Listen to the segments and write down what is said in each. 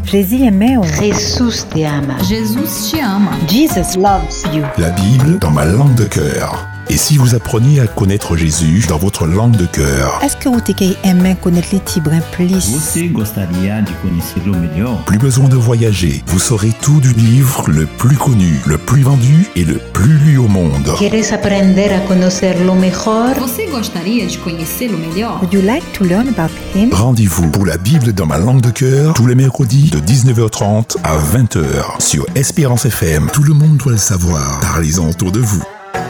Jesús te ama. Jesus te ama. Jesus loves you. La Bible dans ma langue de cœur. Et si vous appreniez à connaître Jésus dans votre langue de cœur? Est-ce que você aime connaître les Tibrin plus? Você gostaria de conhecê-lo melhor? Plus besoin de voyager. Vous saurez tout du livre le plus connu, le plus vendu et le plus lu au monde. ¿Quieres aprender a conocerlo mejor? Você gostaria de conhecê-lo melhor? Would you like to learn about him? Rendez-vous pour la Bible dans ma langue de cœur tous les mercredis de 19h30 à 20h sur Espérance FM. Tout le monde doit le savoir. Parlez-en autour de vous.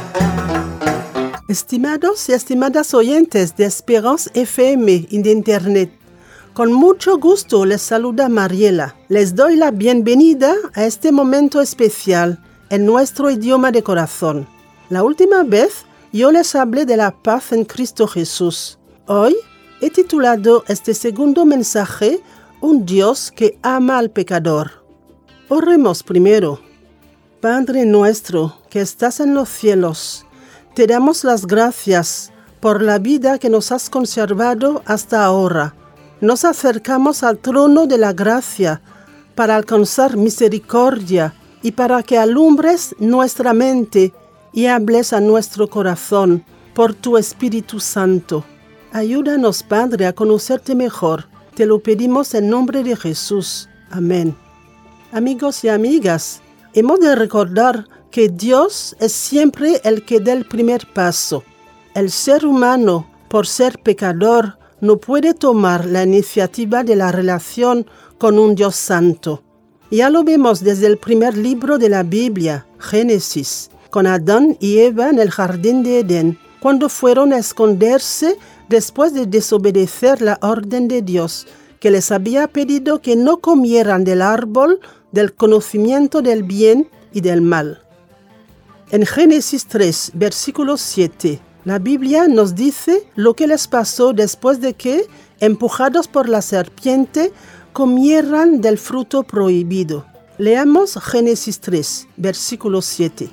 Estimados y estimadas oyentes de Esperanza FM en Internet, con mucho gusto les saluda Mariela. Les doy la bienvenida a este momento especial en nuestro idioma de corazón. La última vez yo les hablé de la paz en Cristo Jesús. Hoy he titulado este segundo mensaje Un Dios que ama al pecador. Oremos primero. Padre nuestro que estás en los cielos, te damos las gracias por la vida que nos has conservado hasta ahora. Nos acercamos al trono de la gracia para alcanzar misericordia y para que alumbres nuestra mente y hables a nuestro corazón por tu Espíritu Santo. Ayúdanos, Padre, a conocerte mejor. Te lo pedimos en nombre de Jesús. Amén. Amigos y amigas, hemos de recordar que Dios es siempre el que da el primer paso. El ser humano, por ser pecador, no puede tomar la iniciativa de la relación con un Dios santo. Ya lo vemos desde el primer libro de la Biblia, Génesis, con Adán y Eva en el jardín de Edén, cuando fueron a esconderse después de desobedecer la orden de Dios, que les había pedido que no comieran del árbol del conocimiento del bien y del mal. En Génesis 3, versículo 7, la Biblia nos dice lo que les pasó después de que, empujados por la serpiente, comieran del fruto prohibido. Leamos Génesis 3, versículo 7.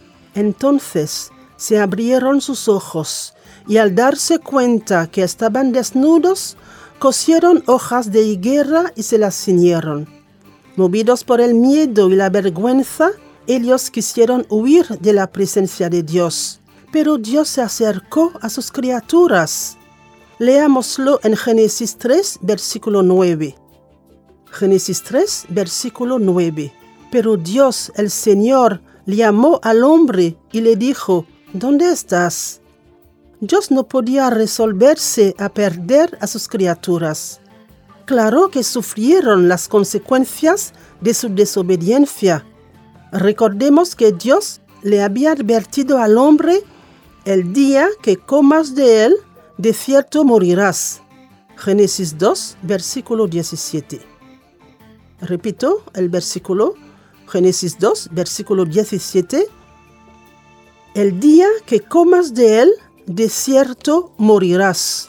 Entonces se abrieron sus ojos y al darse cuenta que estaban desnudos, cosieron hojas de higuera y se las ciñeron. Movidos por el miedo y la vergüenza, ellos quisieron huir de la presencia de Dios, pero Dios se acercó a sus criaturas. Leámoslo en Génesis 3, versículo 9. Génesis 3, versículo 9. Pero Dios, el Señor, llamó al hombre y le dijo, ¿dónde estás? Dios no podía resolverse a perder a sus criaturas. Claro que sufrieron las consecuencias de su desobediencia. Recordemos que Dios le había advertido al hombre, el día que comas de él, de cierto morirás. Génesis 2, versículo 17. Repito el versículo, Génesis 2, versículo 17. El día que comas de él, de cierto morirás.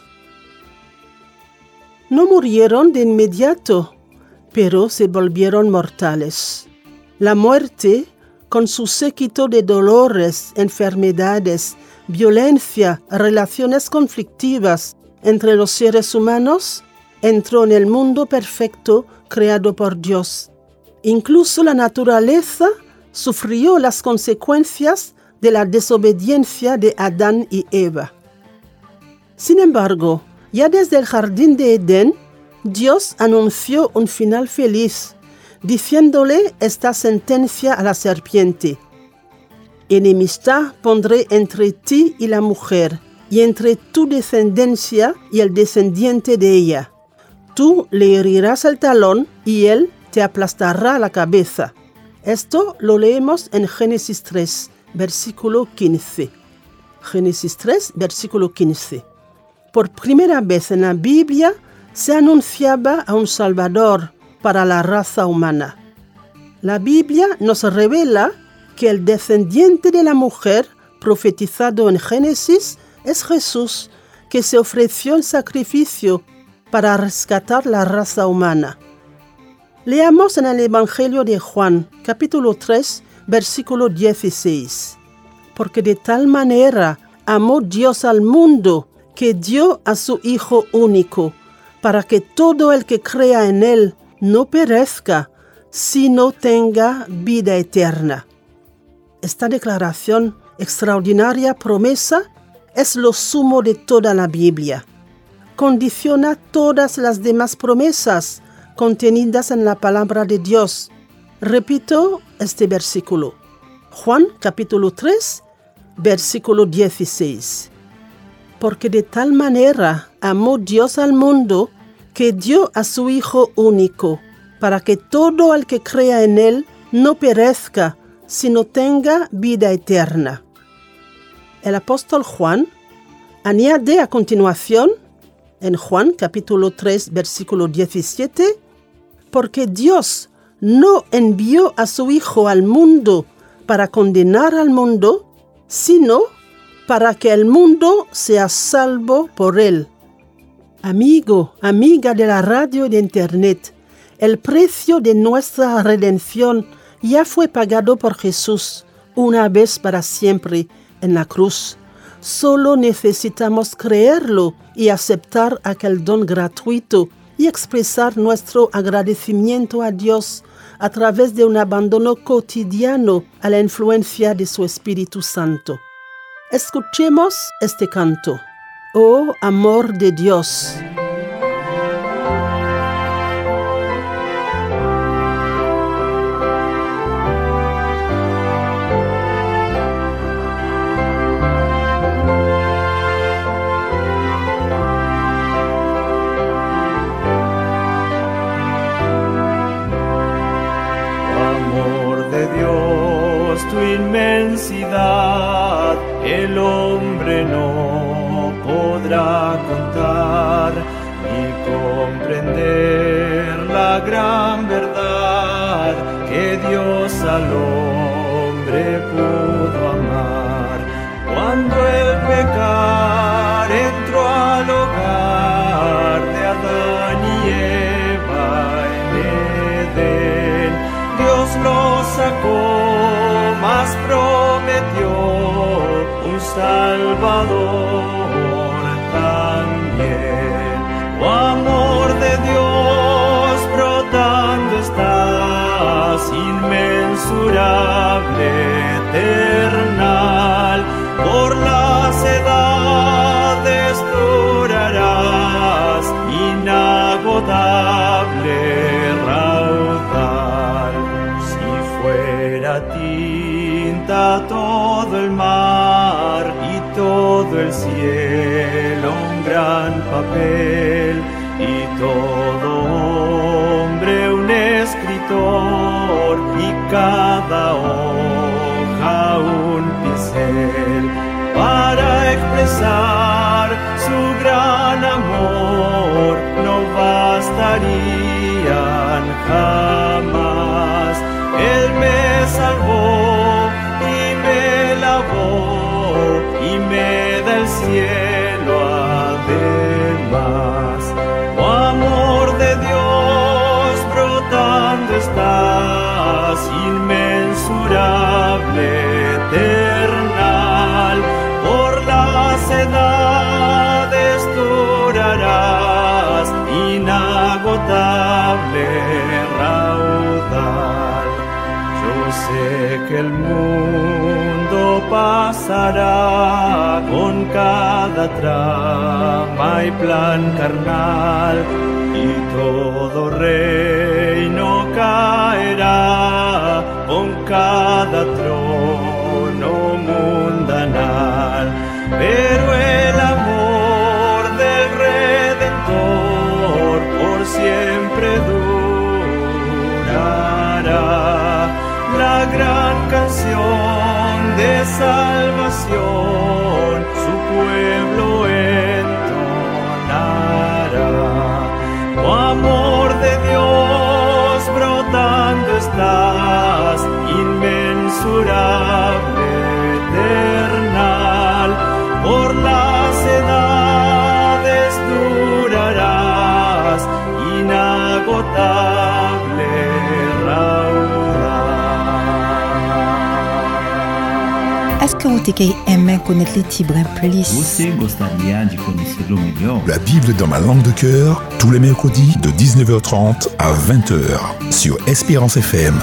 No murieron de inmediato, pero se volvieron mortales. La muerte, con su séquito de dolores, enfermedades, violencia, relaciones conflictivas entre los seres humanos, entró en el mundo perfecto creado por Dios. Incluso la naturaleza sufrió las consecuencias de la desobediencia de Adán y Eva. Sin embargo, ya desde el jardín de Edén, Dios anunció un final feliz, diciéndole esta sentencia a la serpiente: enemistad pondré entre ti y la mujer, y entre tu descendencia y el descendiente de ella. Tú le herirás el talón y él te aplastará la cabeza. Esto lo leemos en Génesis 3, versículo 15. Génesis 3, versículo 15. Por primera vez en la Biblia se anunciaba a un Salvador para la raza humana. La Biblia nos revela que el descendiente de la mujer profetizado en Génesis es Jesús, que se ofreció en sacrificio para rescatar la raza humana. Leamos en el Evangelio de Juan, capítulo 3, versículo 16. Porque de tal manera amó Dios al mundo que dio a su Hijo único, para que todo el que crea en Él no perezca, sino tenga vida eterna. Esta declaración, extraordinaria promesa, es lo sumo de toda la Biblia. Condiciona todas las demás promesas contenidas en la palabra de Dios. Repito este versículo. Juan capítulo 3, versículo 16. Porque de tal manera amó Dios al mundo que dio a su Hijo único, para que todo el que crea en Él no perezca, sino tenga vida eterna. El apóstol Juan añade a continuación, en Juan capítulo 3, versículo 17, porque Dios no envió a su Hijo al mundo para condenar al mundo, sino para que el mundo sea salvo por él. Amigo, amiga de la radio y de internet, el precio de nuestra redención ya fue pagado por Jesús una vez para siempre en la cruz. Solo necesitamos creerlo y aceptar aquel don gratuito y expresar nuestro agradecimiento a Dios a través de un abandono cotidiano a la influencia de su Espíritu Santo. Escuchemos este canto. Oh, amor de Dios. Tu inmensidad el hombre no podrá contar ni comprender la gran verdad que Dios al hombre pudo amar. Cuando el pecar entró al hogar de Adán y Eva en Edén, Dios lo sacó, mas prometió un Salvador también. Oh, amor de Dios, brotando estás, inmensurable, eternal, por las edades durarás, inagotable, raudal. Si fuera tinta todo el mar y todo el cielo un gran papel y todo hombre un escritor y cada hoja un pincel para expresar su gran amor no bastarían jamás. Él me salvó y me lavó y me da el cielo además. Oh, amor de Dios, brotando estás, inmensurable, eternal, por las edades durarás, inagotable, raudal. Yo sé que el mundo pasará con cada trama y plan carnal y todo reino caerá con cada trono mundanal. Pero el amor del Redentor por siempre durará. La gran canción de salvación su pueblo entonará. Oh, amor de Dios, brotando estás, inmensurable, eternal, por las edades durarás, inagotable, raudal. Est-ce que vous aimez connaître les tibres plus? Você gostaria de conhecê-lo melhor? La Bible dans ma langue de cœur, tous les mercredis de 19h30 à 20h sur Espérance FM.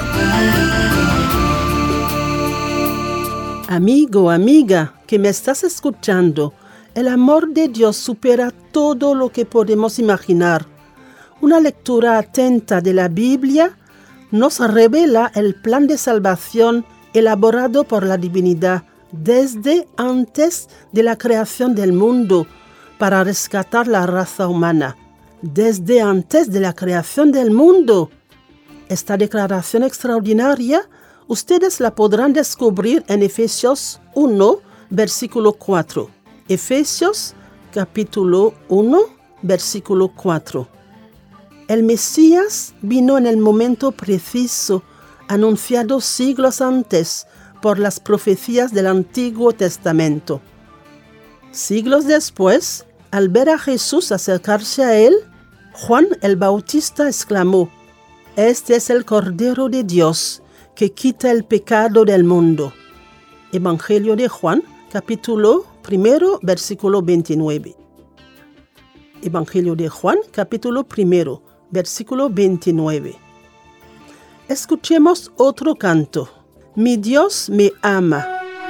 Amigo, amiga, que me estás escuchando, el amor de Dios supera todo lo que podemos imaginar. Una lectura atenta de la Biblia nos revela el plan de salvación elaborado por la divinidad desde antes de la creación del mundo para rescatar la raza humana. Desde antes de la creación del mundo. Esta declaración extraordinaria ustedes la podrán descubrir en Efesios 1, versículo 4. Efesios capítulo 1, versículo 4. El Mesías vino en el momento preciso, anunciado siglos antes por las profecías del Antiguo Testamento. Siglos después, al ver a Jesús acercarse a él, Juan el Bautista exclamó: «Este es el Cordero de Dios, que quita el pecado del mundo». Evangelio de Juan, capítulo 1, versículo 29. Evangelio de Juan, capítulo 1, versículo 29. Escuchemos otro canto. Mi Dios me ama.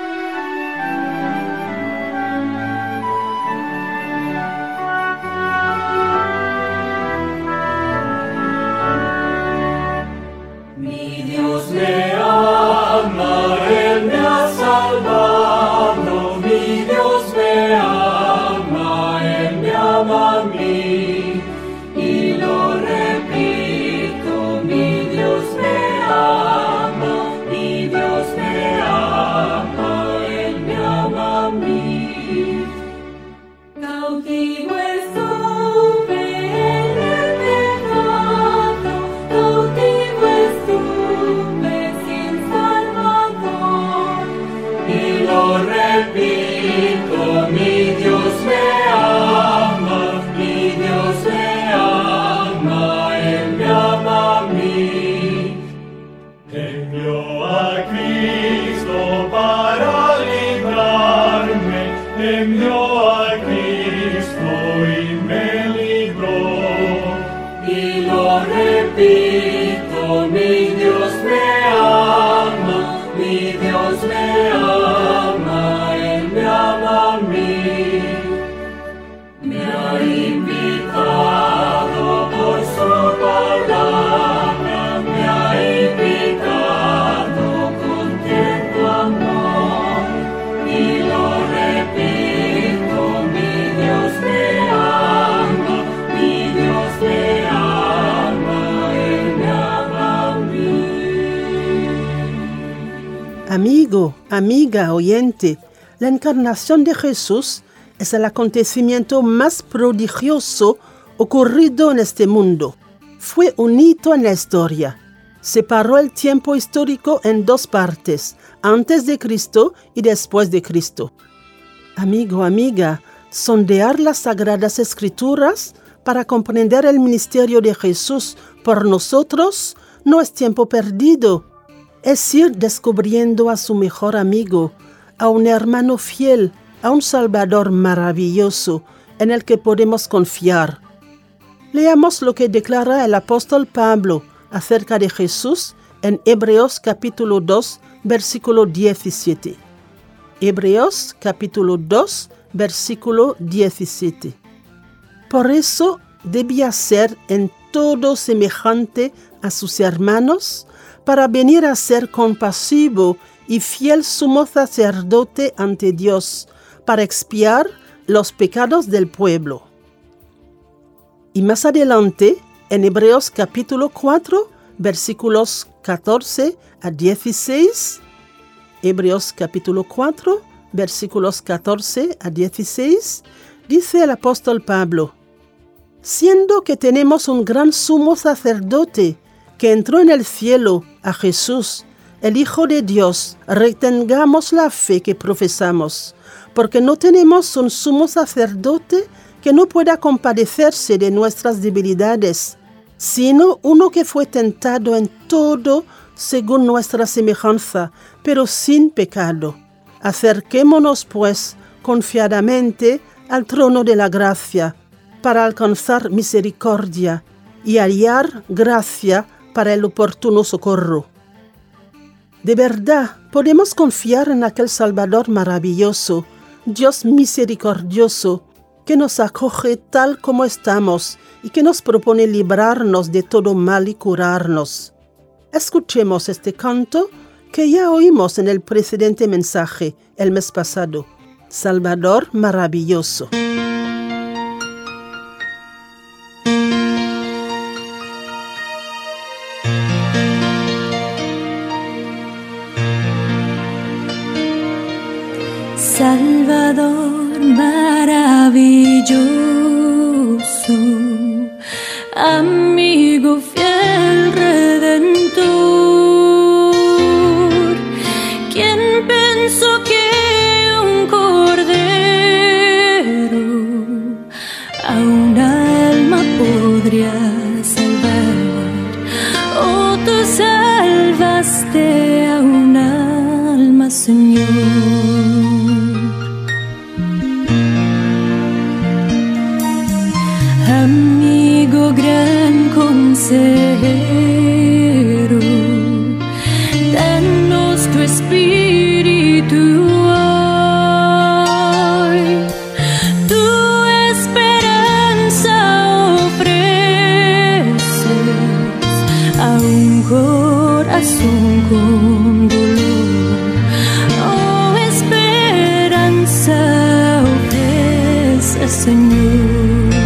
Mi Dios me ama, Él me ha salvado. Mi Dios me ama, Él me ama a mí. Y lo repito, mi Dios me ama, mi Dios me ama, Él me ama a mí. Cautivo estuve en el pecado, cautivo estuve sin Salvador. Y lo repito, mi Dios me ama, mi Dios me ama, Él me ama a mí. Envió a Cristo para librarme, envió a Cristo y me libró. Y lo repito, mi Dios me ama, mi Dios me ama, Él me ama a mí. Me ha invitado por su palabra, me ha invitado con tierno amor. Y lo repito, mi Dios me ama, mi Dios me ama, Él me ama a mí. Amigo, amiga, oyente, la encarnación de Jesús es el acontecimiento más prodigioso ocurrido en este mundo. Fue un hito en la historia. Separó el tiempo histórico en dos partes, antes de Cristo y después de Cristo. Amigo, amiga, sondear las Sagradas Escrituras para comprender el ministerio de Jesús por nosotros no es tiempo perdido. Es ir descubriendo a su mejor amigo, a un hermano fiel, a un Salvador maravilloso en el que podemos confiar. Leamos lo que declara el apóstol Pablo acerca de Jesús en Hebreos capítulo 2, versículo 17. Hebreos capítulo 2, versículo 17. Por eso debía ser en todo semejante a sus hermanos, para venir a ser compasivo y fiel sumo sacerdote ante Dios, para expiar los pecados del pueblo. Y más adelante, en Hebreos capítulo 4, versículos 14 a 16, Hebreos capítulo 4, versículos 14 a 16, dice el apóstol Pablo: siendo que tenemos un gran sumo sacerdote que entró en el cielo, a Jesús, el Hijo de Dios, retengamos la fe que profesamos, porque no tenemos un sumo sacerdote que no pueda compadecerse de nuestras debilidades, sino uno que fue tentado en todo según nuestra semejanza, pero sin pecado. Acerquémonos, pues, confiadamente al trono de la gracia para alcanzar misericordia y hallar gracia para el oportuno socorro. De verdad, podemos confiar en aquel Salvador maravilloso, Dios misericordioso, que nos acoge tal como estamos y que nos propone librarnos de todo mal y curarnos. Escuchemos este canto que ya oímos en el precedente mensaje el mes pasado. Salvador maravilloso. Salvador maravilloso, amigo fiel redentor, quien pensó que un cordero a un alma podría salvar. Oh, tú salvaste a un alma, Señor. Amigo gran consejero, danos tu espíritu hoy. Tu esperanza ofreces a un corazón con dolor. Oh, esperanza ofreces, Señor.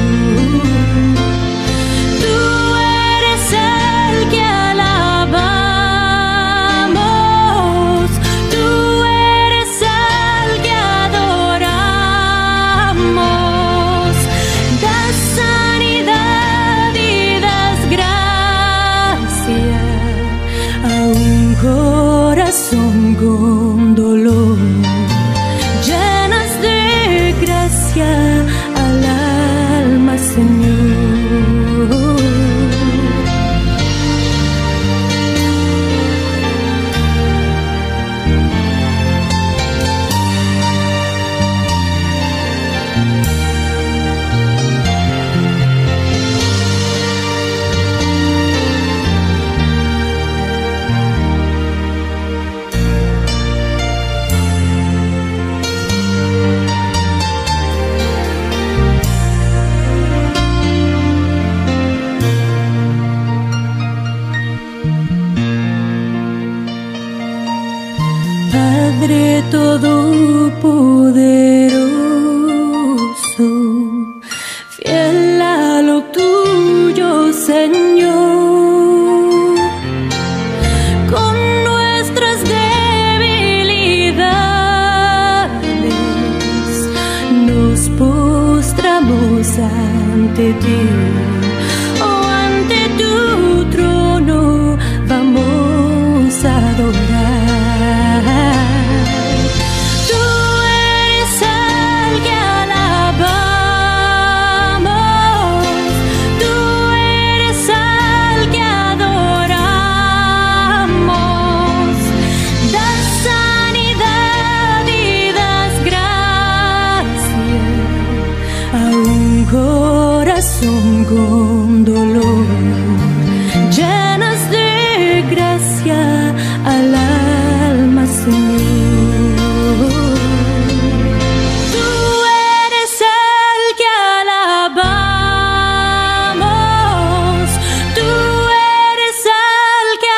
Con dolor, llenas de gracia al alma, Señor. Padre todopoderoso, fiel a lo tuyo, Señor, con nuestras debilidades nos postramos ante ti. Oh, ante tu trono vamos a adorar. Con dolor, llenas de gracia al alma, Señor. Tú eres el que alabamos, tú eres el que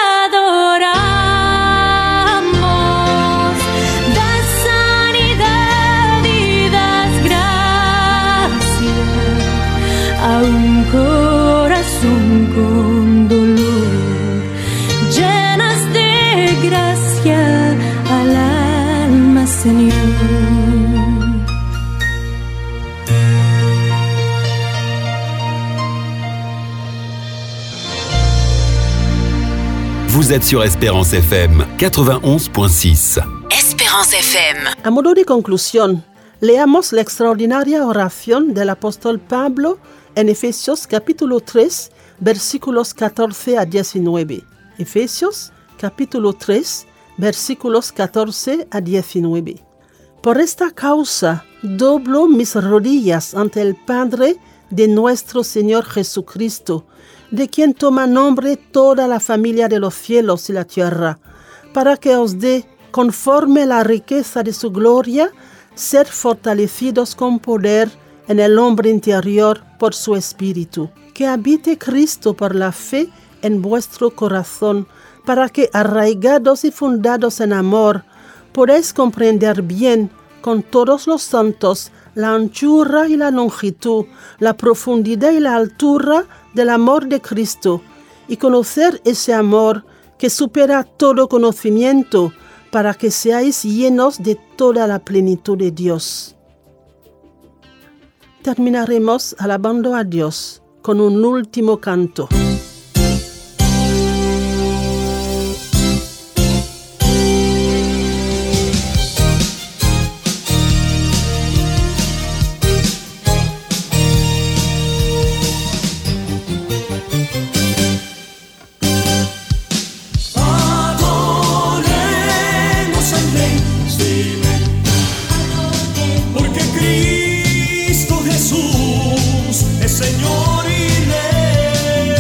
adoramos. Das sanidad y das gracia a un corazón con dolor, llenas de gracia al alma, Señor. Vous êtes sur Espérance FM 91.6. Espérance FM. A modo de conclusión, leamos la extraordinaria oración del apóstol Pablo en Efesios capítulo 3, versículos 14 a 19. Efesios capítulo 3, versículos 14 a 19. Por esta causa, doblo mis rodillas ante el Padre de nuestro Señor Jesucristo, de quien toma nombre toda la familia de los cielos y la tierra, para que os dé, conforme la riqueza de su gloria, ser fortalecidos con poder en el hombre interior por su Espíritu. Que habite Cristo por la fe en vuestro corazón, para que, arraigados y fundados en amor, podáis comprender bien, con todos los santos, la anchura y la longitud, la profundidad y la altura del amor de Cristo, y conocer ese amor que supera todo conocimiento, para que seáis llenos de toda la plenitud de Dios. Terminaremos alabando a Dios con un último canto. Señor y Rey.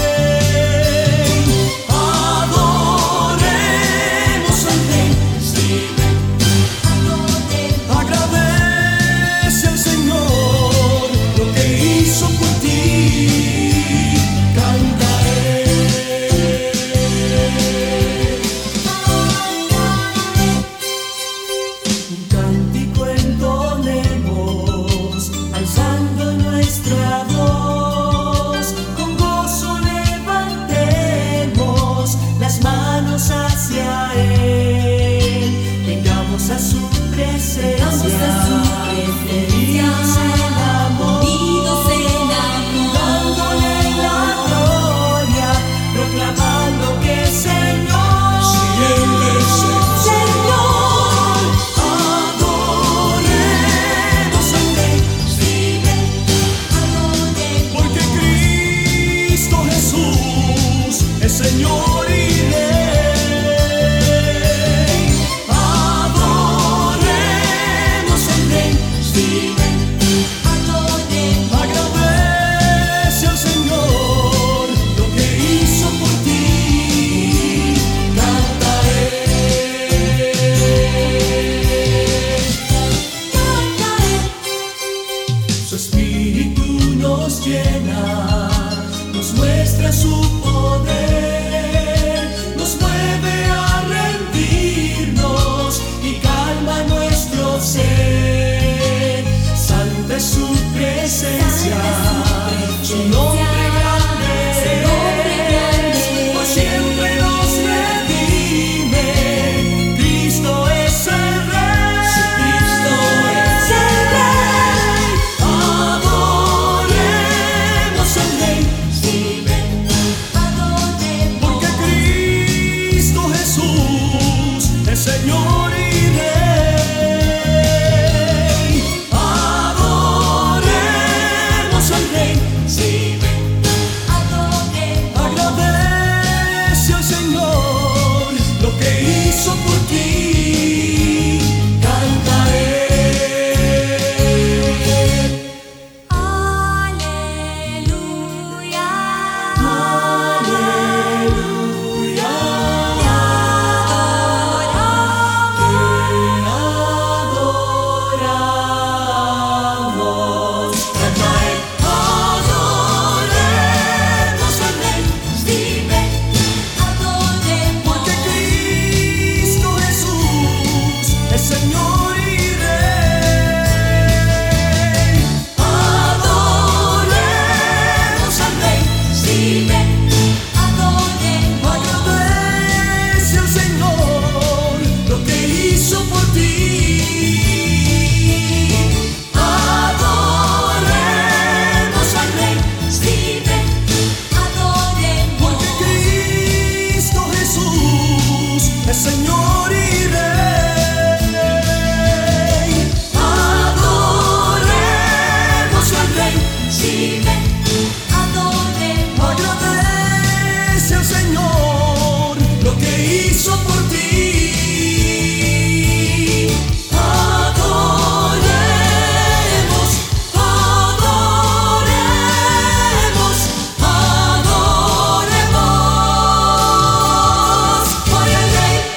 hizo por ti. Adoremos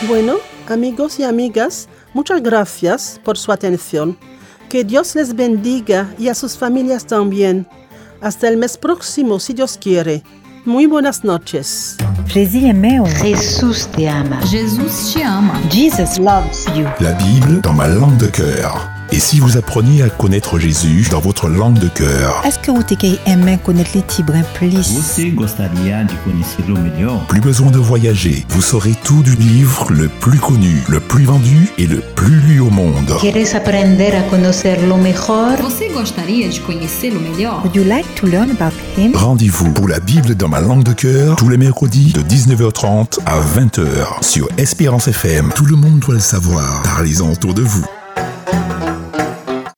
Bueno, amigos y amigas, muchas gracias por su atención. Que Dios les bendiga y a sus familias también. Hasta el mes próximo, si Dios quiere. Muy buenas noches. Jésus aimait. Jesús te ama. Jesus te ama. Jesus Loves you. La Bible dans ma langue de cœur. Et si vous appreniez à connaître Jésus dans votre langue de cœur, est-ce que vous aimez connaître les Tibrins plus? Você gostaria de conhecê-lo melhor? Plus besoin de voyager, vous saurez tout du livre le plus connu, le plus vendu et le plus lu au monde. ¿Quieres aprender a conocerlo mejor? Você gostaria de conhecê-lo melhor? Would you like to learn about him? Rendez-vous pour la Bible dans ma langue de cœur tous les mercredis de 19h30 à 20h sur Espérance FM. Tout le monde doit le savoir. Parlez-en autour de vous.